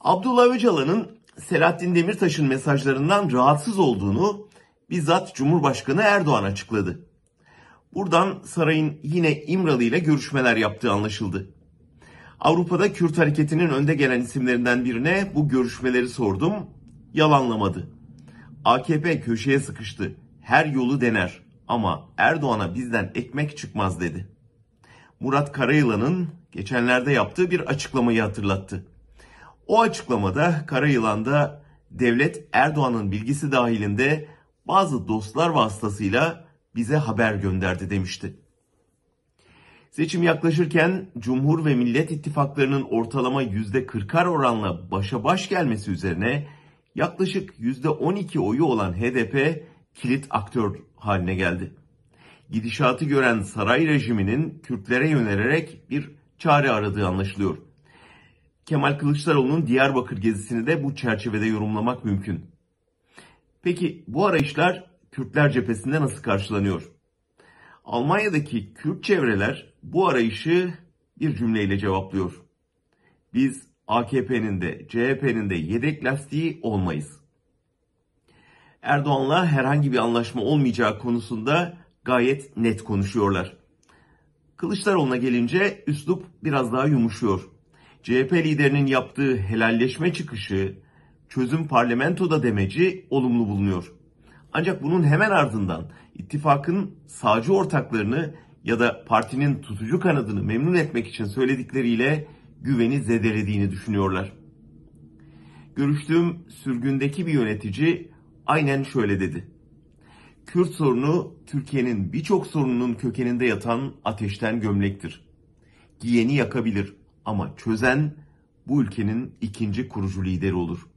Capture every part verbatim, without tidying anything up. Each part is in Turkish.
Abdullah Öcalan'ın Selahattin Demirtaş'ın mesajlarından rahatsız olduğunu bizzat Cumhurbaşkanı Erdoğan açıkladı. Buradan sarayın yine İmralı ile görüşmeler yaptığı anlaşıldı. Avrupa'da Kürt hareketinin önde gelen isimlerinden birine bu görüşmeleri sordum. Yalanlamadı. A K P köşeye sıkıştı. Her yolu dener ama Erdoğan'a bizden ekmek çıkmaz dedi. Murat Karayılan'ın geçenlerde yaptığı bir açıklamayı hatırlattı. O açıklamada Karayılan'da devlet Erdoğan'ın bilgisi dahilinde bazı dostlar vasıtasıyla bize haber gönderdi demişti. Seçim yaklaşırken Cumhur ve Millet İttifaklarının ortalama yüzde kırkar oranla başa baş gelmesi üzerine yaklaşık yüzde on iki oyu olan H D P kilit aktör haline geldi. Gidişatı gören saray rejiminin Kürtlere yönelerek bir çare aradığı anlaşılıyor. Kemal Kılıçdaroğlu'nun Diyarbakır gezisini de bu çerçevede yorumlamak mümkün. Peki bu arayışlar Kürtler cephesinde nasıl karşılanıyor? Almanya'daki Kürt çevreler bu arayışı bir cümleyle cevaplıyor. Biz A K P'nin de C H P'nin de yedek lastiği olmayız. Erdoğan'la herhangi bir anlaşma olmayacağı konusunda gayet net konuşuyorlar. Kılıçdaroğlu'na gelince üslup biraz daha yumuşuyor. C H P liderinin yaptığı helalleşme çıkışı, çözüm parlamentoda demeci olumlu bulunuyor. Ancak bunun hemen ardından ittifakın sağcı ortaklarını ya da partinin tutucu kanadını memnun etmek için söyledikleriyle güveni zedelediğini düşünüyorlar. Görüştüğüm sürgündeki bir yönetici aynen şöyle dedi. Kürt sorunu Türkiye'nin birçok sorununun kökeninde yatan ateşten gömlektir. Giyeni yakabilir ama çözen bu ülkenin ikinci kurucu lideri olur.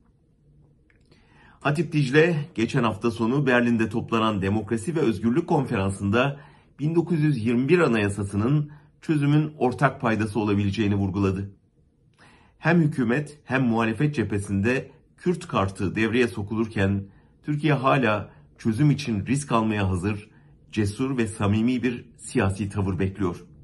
Hatip Dicle geçen hafta sonu Berlin'de toplanan Demokrasi ve Özgürlük Konferansı'nda bin dokuz yüz yirmi bir Anayasası'nın çözümün ortak paydası olabileceğini vurguladı. Hem hükümet hem muhalefet cephesinde Kürt kartı devreye sokulurken Türkiye hala çözüm için risk almaya hazır, cesur ve samimi bir siyasi tavır bekliyor.